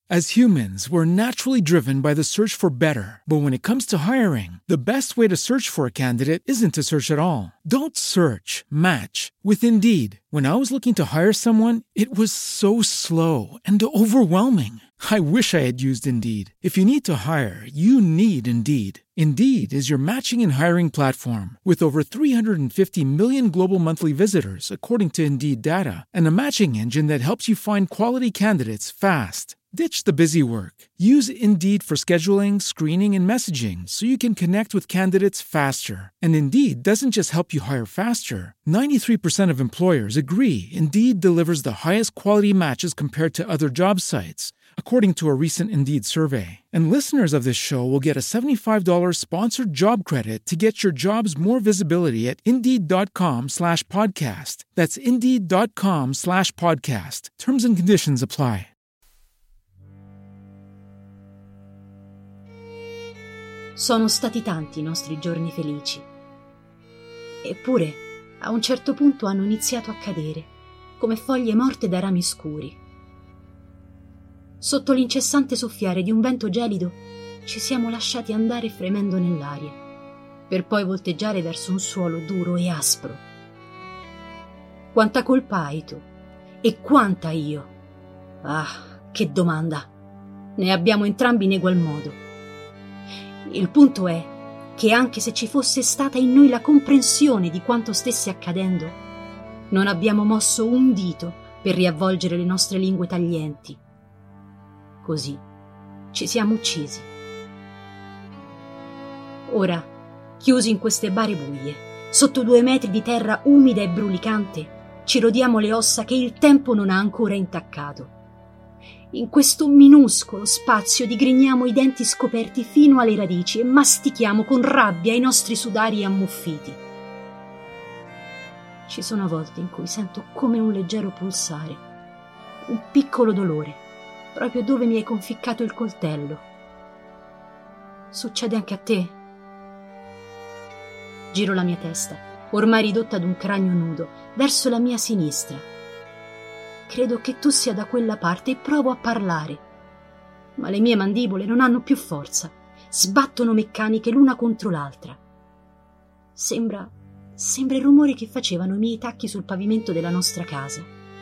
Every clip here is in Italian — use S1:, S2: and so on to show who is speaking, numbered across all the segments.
S1: As humans, we're naturally driven by the search for better. But when it comes to hiring, the best way to search for a candidate isn't to search at all. Don't search, match with Indeed. When I was looking to hire someone, it was so slow and overwhelming. I wish I had used Indeed. If you need to hire, you need Indeed. Indeed is your matching and hiring platform with over 350 million global monthly visitors, according to Indeed data, and a matching engine that helps you find quality candidates fast. Ditch the busy work. Use Indeed for scheduling, screening, and messaging so you can connect with candidates faster. And Indeed doesn't just help you hire faster. 93% of employers agree Indeed delivers the highest quality matches compared to other job sites, according to a recent Indeed survey. And listeners of this show will get a $75 sponsored job credit to get your jobs more visibility at Indeed.com/podcast. That's Indeed.com/podcast. Terms and conditions apply.
S2: Sono stati tanti i nostri giorni felici. Eppure, a un certo punto hanno iniziato a cadere, come foglie morte da rami scuri. Sotto l'incessante soffiare di un vento gelido, ci siamo lasciati andare fremendo nell'aria, per poi volteggiare verso un suolo duro e aspro. Quanta colpa hai tu? E quanta io? Ah, che domanda! Ne abbiamo entrambi in egual modo. Il punto è che anche se ci fosse stata in noi la comprensione di quanto stesse accadendo, non abbiamo mosso un dito per riavvolgere le nostre lingue taglienti. Così ci siamo uccisi. Ora, chiusi in queste bare buie, sotto 2 metri di terra umida e brulicante, ci rodiamo le ossa che il tempo non ha ancora intaccato. In questo minuscolo spazio digrigniamo i denti scoperti fino alle radici e mastichiamo con rabbia i nostri sudari ammuffiti. Ci sono volte in cui sento come un leggero pulsare, un piccolo dolore, proprio dove mi hai conficcato il coltello. Succede anche a te? Giro la mia testa, ormai ridotta ad un cranio nudo, verso la mia sinistra. Credo che tu sia da quella parte e provo a parlare, ma le mie mandibole non hanno più forza, sbattono meccaniche l'una contro l'altra. Sembra il rumore che facevano i miei tacchi sul pavimento della nostra casa.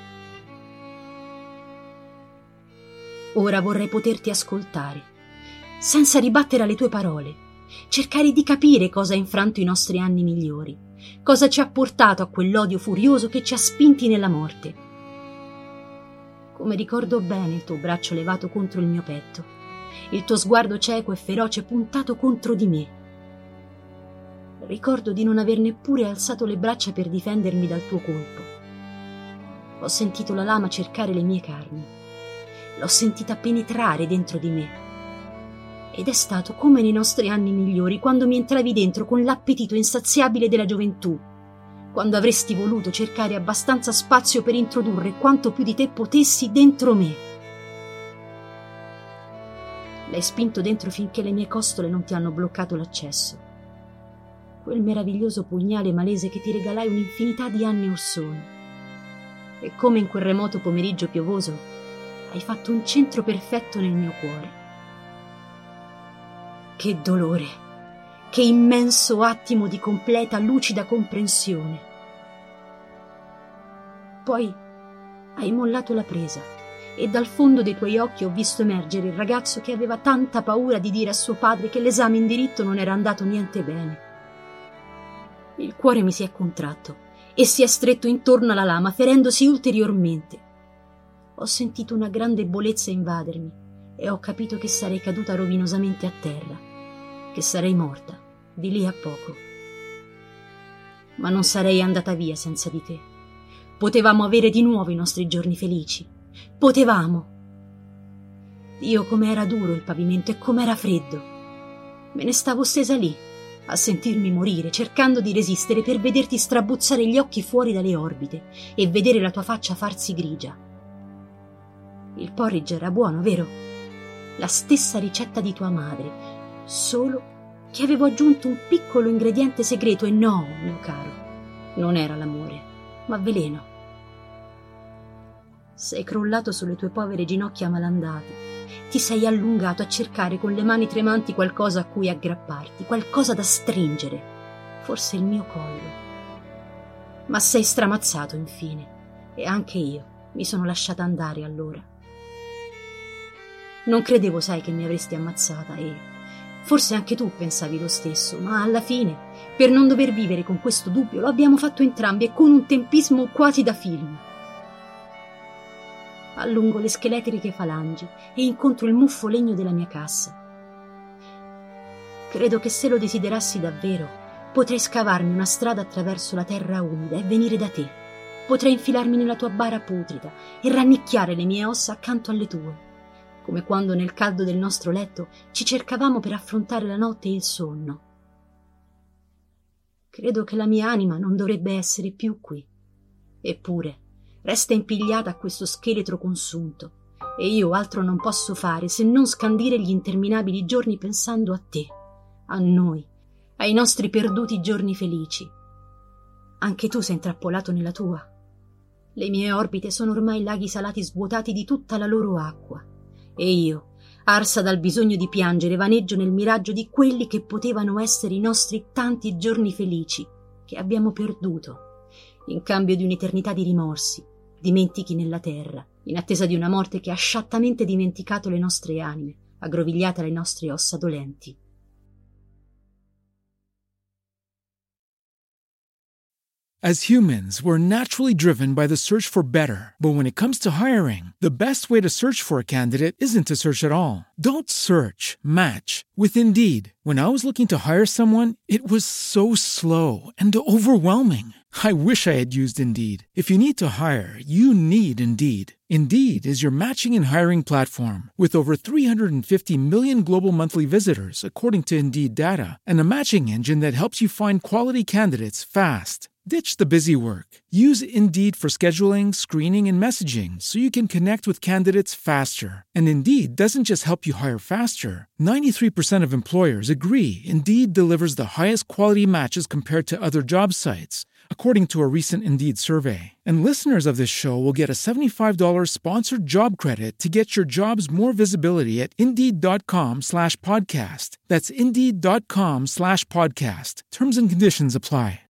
S2: Ora vorrei poterti ascoltare, senza ribattere alle tue parole, cercare di capire cosa ha infranto i nostri anni migliori, cosa ci ha portato a quell'odio furioso che ci ha spinti nella morte. Come ricordo bene il tuo braccio levato contro il mio petto, il tuo sguardo cieco e feroce puntato contro di me. Ricordo di non aver neppure alzato le braccia per difendermi dal tuo colpo. Ho sentito la lama cercare le mie carni. L'ho sentita penetrare dentro di me. Ed è stato come nei nostri anni migliori, quando mi entravi dentro con l'appetito insaziabile della gioventù, quando avresti voluto cercare abbastanza spazio per introdurre quanto più di te potessi dentro me. L'hai spinto dentro finché le mie costole non ti hanno bloccato l'accesso. Quel meraviglioso pugnale malese che ti regalai un'infinità di anni or sono. E come in quel remoto pomeriggio piovoso, hai fatto un centro perfetto nel mio cuore. Che dolore! Che immenso attimo di completa, lucida comprensione. Poi hai mollato la presa e dal fondo dei tuoi occhi ho visto emergere il ragazzo che aveva tanta paura di dire a suo padre che l'esame in diritto non era andato niente bene. Il cuore mi si è contratto e si è stretto intorno alla lama, ferendosi ulteriormente. Ho sentito una grande ebbolezza invadermi e ho capito che sarei caduta rovinosamente a terra, che sarei morta di lì a poco. Ma non sarei andata via senza di te. Potevamo avere di nuovo i nostri giorni felici. Potevamo. Dio, com'era duro il pavimento e com'era freddo. Me ne stavo stesa lì, a sentirmi morire, cercando di resistere per vederti strabuzzare gli occhi fuori dalle orbite e vedere la tua faccia farsi grigia. Il porridge era buono, vero? La stessa ricetta di tua madre, solo che avevo aggiunto un piccolo ingrediente segreto e no, mio caro, non era l'amore, ma veleno. Sei crollato sulle tue povere ginocchia malandate ti sei allungato a cercare con le mani tremanti qualcosa a cui aggrapparti, qualcosa da stringere, forse il mio collo. Ma sei stramazzato infine, e anche io mi sono lasciata andare allora. Non credevo, sai, che mi avresti ammazzata e forse anche tu pensavi lo stesso, ma alla fine, per non dover vivere con questo dubbio, lo abbiamo fatto entrambi e con un tempismo quasi da film. Allungo le scheletriche falangi e incontro il muffo legno della mia cassa. Credo che se lo desiderassi davvero, potrei scavarmi una strada attraverso la terra umida e venire da te. Potrei infilarmi nella tua bara putrida e rannicchiare le mie ossa accanto alle tue, come quando nel caldo del nostro letto ci cercavamo per affrontare la notte e il sonno. Credo che la mia anima non dovrebbe essere più qui. Eppure resta impigliata a questo scheletro consunto, e io altro non posso fare se non scandire gli interminabili giorni pensando a te, a noi, ai nostri perduti giorni felici. Anche tu sei intrappolato nella tua. Le mie orbite sono ormai laghi salati svuotati di tutta la loro acqua, e io, arsa dal bisogno di piangere, vaneggio nel miraggio di quelli che potevano essere i nostri tanti giorni felici che abbiamo perduto, in cambio di un'eternità di rimorsi, dimentichi nella terra, in attesa di una morte che ha sciattamente dimenticato le nostre anime, aggrovigliate alle nostre ossa dolenti.
S1: As humans, we're naturally driven by the search for better. But when it comes to hiring, the best way to search for a candidate isn't to search at all. Don't search, match with Indeed. When I was looking to hire someone, it was so slow and overwhelming. I wish I had used Indeed. If you need to hire, you need Indeed. Indeed is your matching and hiring platform with over 350 million global monthly visitors, according to Indeed data, and a matching engine that helps you find quality candidates fast. Ditch the busy work. Use Indeed for scheduling, screening, and messaging so you can connect with candidates faster. And Indeed doesn't just help you hire faster. 93% of employers agree Indeed delivers the highest quality matches compared to other job sites, according to a recent Indeed survey. And listeners of this show will get a $75 sponsored job credit to get your jobs more visibility at Indeed.com/podcast. That's Indeed.com/podcast. Terms and conditions apply.